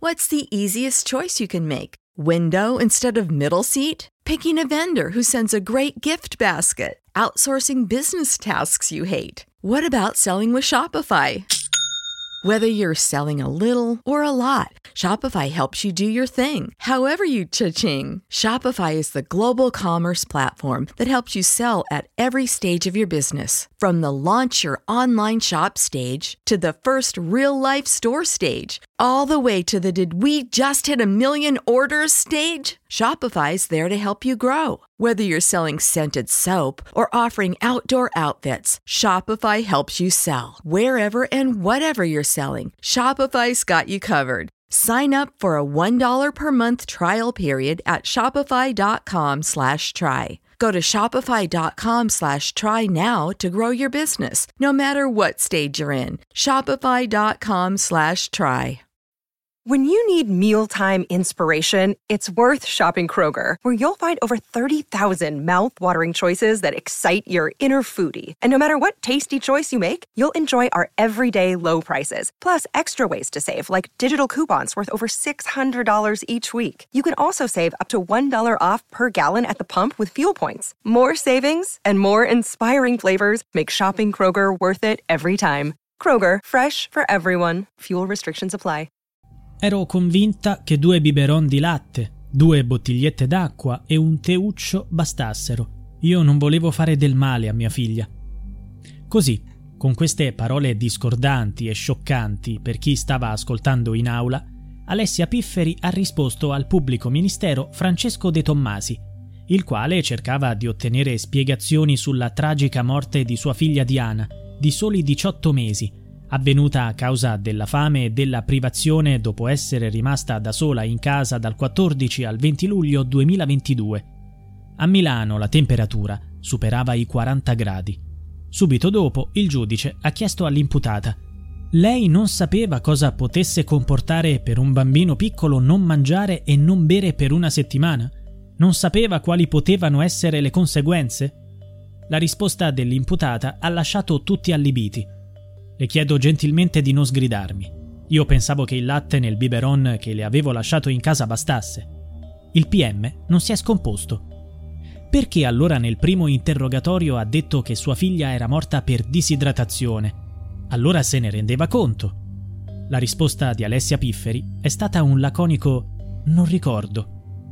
What's the easiest choice you can make? Window instead of middle seat? Picking a vendor who sends a great gift basket? Outsourcing business tasks you hate? What about selling with Shopify? Whether you're selling a little or a lot, Shopify helps you do your thing, however you cha-ching. Shopify is the global commerce platform that helps you sell at every stage of your business. From the launch your online shop stage to the first real-life store stage, all the way to the did we just hit a million orders stage. Shopify's there to help you grow. Whether you're selling scented soap or offering outdoor outfits, Shopify helps you sell. Wherever and whatever you're selling, Shopify's got you covered. Sign up for a $1 per month trial period at shopify.com/try. Go to shopify.com/try now to grow your business, no matter what stage you're in. Shopify.com/try. When you need mealtime inspiration, it's worth shopping Kroger, where you'll find over 30,000 mouth-watering choices that excite your inner foodie. And no matter what tasty choice you make, you'll enjoy our everyday low prices, plus extra ways to save, like digital coupons worth over $600 each week. You can also save up to $1 off per gallon at the pump with fuel points. More savings and more inspiring flavors make shopping Kroger worth it every time. Kroger, fresh for everyone. Fuel restrictions apply. Ero convinta che 2 biberon di latte, 2 bottigliette d'acqua e un teuccio bastassero. Io non volevo fare del male a mia figlia. Così, con queste parole discordanti e scioccanti per chi stava ascoltando in aula, Alessia Pifferi ha risposto al pubblico ministero Francesco De Tommasi, il quale cercava di ottenere spiegazioni sulla tragica morte di sua figlia Diana, di soli 18 mesi, avvenuta a causa della fame e della privazione dopo essere rimasta da sola in casa dal 14 al 20 luglio 2022. A Milano la temperatura superava i 40 gradi. Subito dopo il giudice ha chiesto all'imputata: lei non sapeva cosa potesse comportare per un bambino piccolo non mangiare e non bere per una settimana? Non sapeva quali potevano essere le conseguenze? La risposta dell'imputata ha lasciato tutti allibiti. Le chiedo gentilmente di non sgridarmi. Io pensavo che il latte nel biberon che le avevo lasciato in casa bastasse. Il PM non si è scomposto. Perché allora nel primo interrogatorio ha detto che sua figlia era morta per disidratazione? Allora se ne rendeva conto. La risposta di Alessia Pifferi è stata un laconico «non ricordo».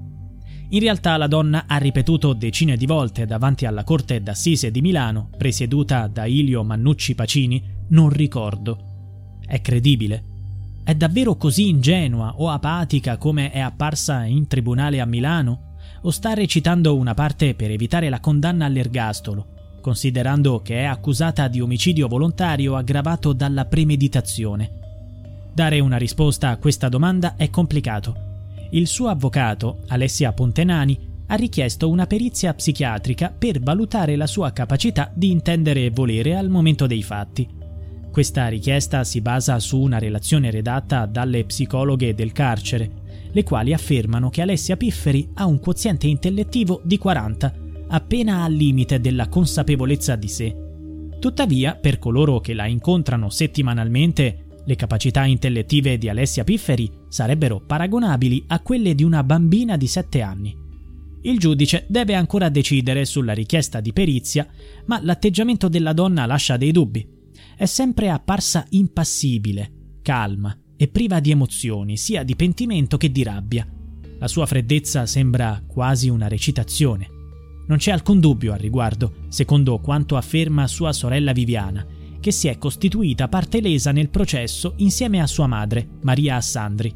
In realtà la donna ha ripetuto decine di volte davanti alla Corte d'Assise di Milano, presieduta da Ilio Mannucci Pacini, «non ricordo». È credibile? È davvero così ingenua o apatica come è apparsa in tribunale a Milano? O sta recitando una parte per evitare la condanna all'ergastolo, considerando che è accusata di omicidio volontario aggravato dalla premeditazione? Dare una risposta a questa domanda è complicato. Il suo avvocato, Alessia Pontenani, ha richiesto una perizia psichiatrica per valutare la sua capacità di intendere e volere al momento dei fatti. Questa richiesta si basa su una relazione redatta dalle psicologhe del carcere, le quali affermano che Alessia Pifferi ha un quoziente intellettivo di 40, appena al limite della consapevolezza di sé. Tuttavia, per coloro che la incontrano settimanalmente, le capacità intellettive di Alessia Pifferi sarebbero paragonabili a quelle di una bambina di 7 anni. Il giudice deve ancora decidere sulla richiesta di perizia, ma l'atteggiamento della donna lascia dei dubbi. È sempre apparsa impassibile, calma e priva di emozioni, sia di pentimento che di rabbia. La sua freddezza sembra quasi una recitazione. Non c'è alcun dubbio al riguardo, secondo quanto afferma sua sorella Viviana, che si è costituita parte lesa nel processo insieme a sua madre, Maria Assandri.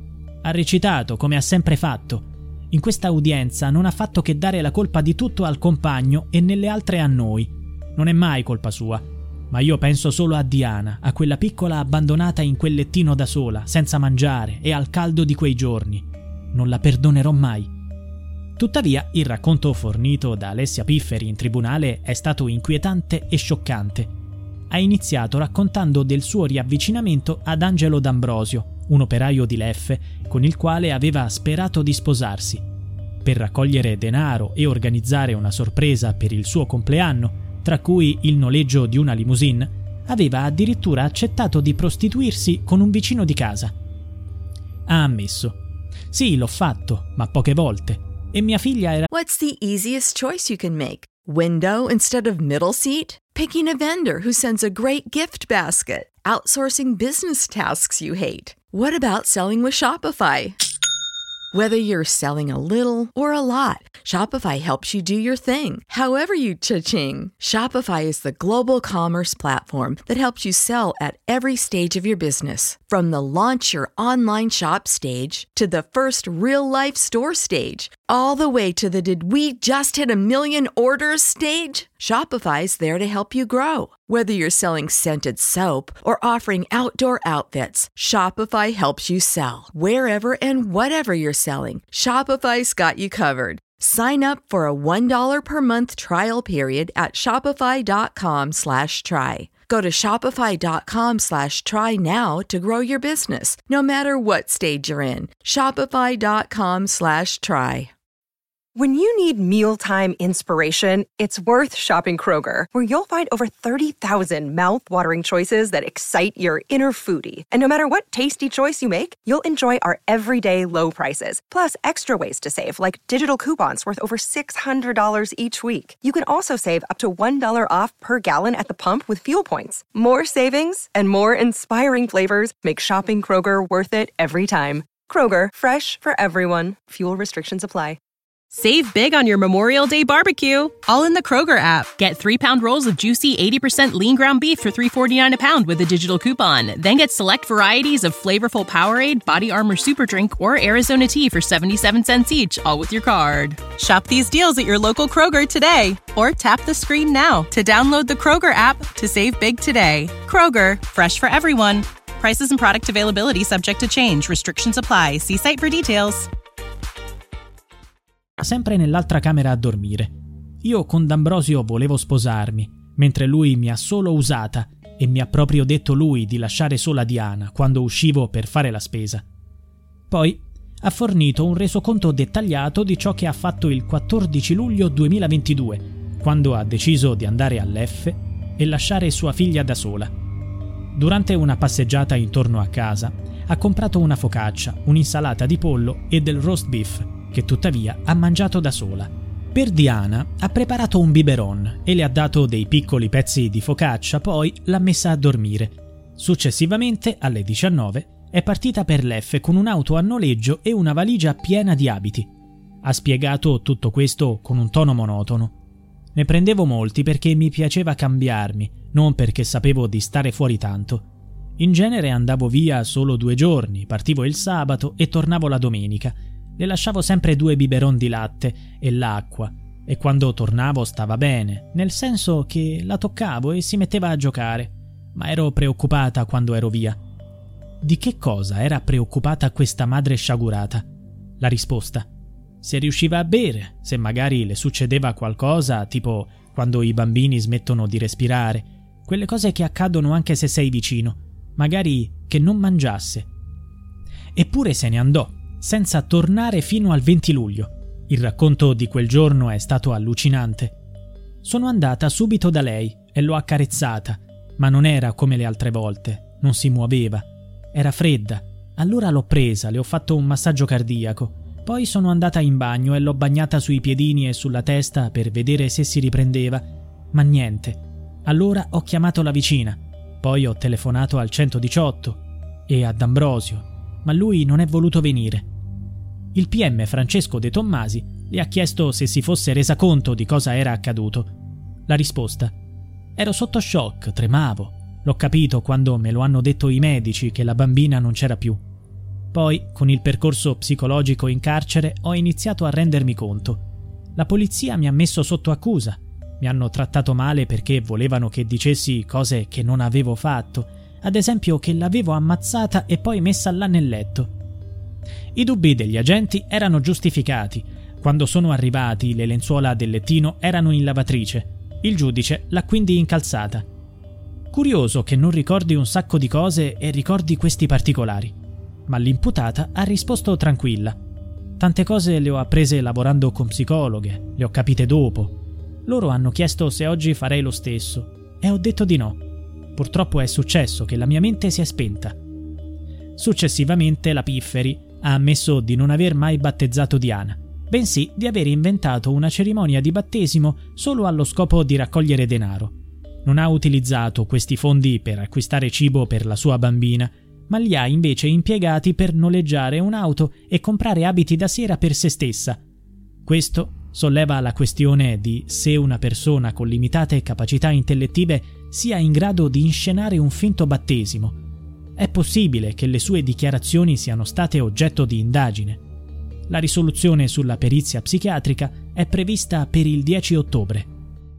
Ha recitato come ha sempre fatto. In questa udienza non ha fatto che dare la colpa di tutto al compagno e nelle altre a noi. Non è mai colpa sua. Ma io penso solo a Diana, a quella piccola abbandonata in quel lettino da sola, senza mangiare e al caldo di quei giorni. Non la perdonerò mai. Tuttavia, il racconto fornito da Alessia Pifferi in tribunale è stato inquietante e scioccante. Ha iniziato raccontando del suo riavvicinamento ad Angelo D'Ambrosio, un operaio di Leffe, con il quale aveva sperato di sposarsi. Per raccogliere denaro e organizzare una sorpresa per il suo compleanno, tra cui il noleggio di una limousine, aveva addirittura accettato di prostituirsi con un vicino di casa. ha ammesso: sì, l'ho fatto, ma poche volte. E mia figlia era... What's the easiest choice you can make? Window instead of middle seat? Picking a vendor who sends a great gift basket? Outsourcing business tasks you hate? What about selling with Shopify? Whether you're selling a little or a lot, Shopify helps you do your thing, however you cha-ching. Shopify is the global commerce platform that helps you sell at every stage of your business. From the launch your online shop stage to the first real-life store stage, all the way to the did we just hit 1 million orders stage. Shopify's there to help you grow. Whether you're selling scented soap or offering outdoor outfits, Shopify helps you sell. Wherever and whatever you're selling, Shopify's got you covered. Sign up for a $1 per month trial period at shopify.com/try. Go to shopify.com/try now to grow your business, no matter what stage you're in. Shopify.com/try. When you need mealtime inspiration, it's worth shopping Kroger, where you'll find over 30,000 mouth-watering choices that excite your inner foodie. And no matter what tasty choice you make, you'll enjoy our everyday low prices, plus extra ways to save, like digital coupons worth over $600 each week. You can also save up to $1 off per gallon at the pump with fuel points. More savings and more inspiring flavors make shopping Kroger worth it every time. Kroger, fresh for everyone. Fuel restrictions apply. Save big on your Memorial Day barbecue, all in the Kroger app. Get 3-pound rolls of juicy 80% lean ground beef for $3.49 a pound with a digital coupon. Then get select varieties of flavorful Powerade, Body Armor Super Drink, or Arizona tea for 77 cents each, all with your card. Shop these deals at your local Kroger today, or tap the screen now to download the Kroger app to save big today. Kroger, fresh for everyone. Prices and product availability subject to change. Restrictions apply. See site for details. Sempre nell'altra camera a dormire. Io con D'Ambrosio volevo sposarmi, mentre lui mi ha solo usata e mi ha proprio detto lui di lasciare sola Diana quando uscivo per fare la spesa. Poi ha fornito un resoconto dettagliato di ciò che ha fatto il 14 luglio 2022, quando ha deciso di andare all'F e lasciare sua figlia da sola. Durante una passeggiata intorno a casa, ha comprato una focaccia, un'insalata di pollo e del roast beef, che tuttavia ha mangiato da sola. Per Diana ha preparato un biberon e le ha dato dei piccoli pezzi di focaccia, poi l'ha messa a dormire. Successivamente, alle 19, è partita per l'F con un'auto a noleggio e una valigia piena di abiti. Ha spiegato tutto questo con un tono monotono. Ne prendevo molti perché mi piaceva cambiarmi, non perché sapevo di stare fuori tanto. In genere andavo via solo 2 giorni, partivo il sabato e tornavo la domenica. Le lasciavo sempre 2 biberon di latte e l'acqua, e quando tornavo stava bene, nel senso che la toccavo e si metteva a giocare, ma ero preoccupata quando ero via. Di che cosa era preoccupata questa madre sciagurata? La risposta: se riusciva a bere, se magari le succedeva qualcosa, tipo quando i bambini smettono di respirare, quelle cose che accadono anche se sei vicino, magari che non mangiasse. Eppure se ne andò, senza tornare fino al 20 luglio. Il racconto di quel giorno è stato allucinante. Sono andata subito da lei e l'ho accarezzata, ma non era come le altre volte, non si muoveva. Era fredda. Allora l'ho presa, le ho fatto un massaggio cardiaco. Poi sono andata in bagno e l'ho bagnata sui piedini e sulla testa per vedere se si riprendeva, ma niente. Allora ho chiamato la vicina, poi ho telefonato al 118 e a D'Ambrosio, ma lui non è voluto venire. Il PM Francesco De Tommasi le ha chiesto se si fosse resa conto di cosa era accaduto. La risposta: ero sotto shock, tremavo. L'ho capito quando me lo hanno detto i medici che la bambina non c'era più. Poi, con il percorso psicologico in carcere, ho iniziato a rendermi conto. La polizia mi ha messo sotto accusa. Mi hanno trattato male perché volevano che dicessi cose che non avevo fatto, ad esempio che l'avevo ammazzata e poi messa là nel letto. I dubbi degli agenti erano giustificati. Quando sono arrivati, le lenzuola del lettino erano in lavatrice. Il giudice l'ha quindi incalzata. Curioso che non ricordi un sacco di cose e ricordi questi particolari. Ma l'imputata ha risposto tranquilla. Tante cose le ho apprese lavorando con psicologhe, le ho capite dopo. Loro hanno chiesto se oggi farei lo stesso e ho detto di no. Purtroppo è successo che la mia mente si è spenta. Successivamente la Pifferi ha ammesso di non aver mai battezzato Diana, bensì di aver inventato una cerimonia di battesimo solo allo scopo di raccogliere denaro. Non ha utilizzato questi fondi per acquistare cibo per la sua bambina, ma li ha invece impiegati per noleggiare un'auto e comprare abiti da sera per se stessa. Questo solleva la questione di se una persona con limitate capacità intellettive sia in grado di inscenare un finto battesimo. È possibile che le sue dichiarazioni siano state oggetto di indagine. La risoluzione sulla perizia psichiatrica è prevista per il 10 ottobre.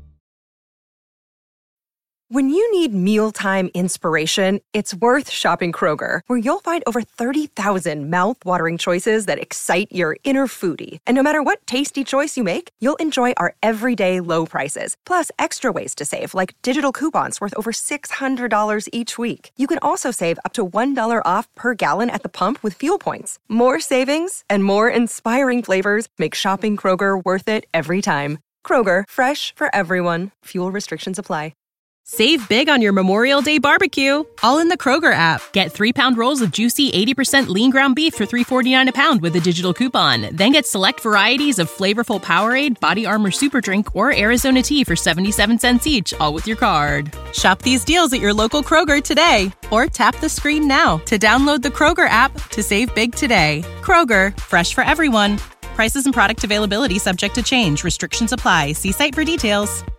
When you need mealtime inspiration, it's worth shopping Kroger, where you'll find over 30,000 mouth-watering choices that excite your inner foodie. And no matter what tasty choice you make, you'll enjoy our everyday low prices, plus extra ways to save, like digital coupons worth over $600 each week. You can also save up to $1 off per gallon at the pump with fuel points. More savings and more inspiring flavors make shopping Kroger worth it every time. Kroger, fresh for everyone. Fuel restrictions apply. Save big on your Memorial Day barbecue, all in the Kroger app. Get 3-pound rolls of juicy 80% lean ground beef for $3.49 a pound with a digital coupon. Then get select varieties of flavorful Powerade, Body Armor Super Drink, or Arizona tea for 77 cents each, all with your card. Shop these deals at your local Kroger today, or tap the screen now to download the Kroger app to save big today. Kroger, fresh for everyone. Prices and product availability subject to change. Restrictions apply. See site for details.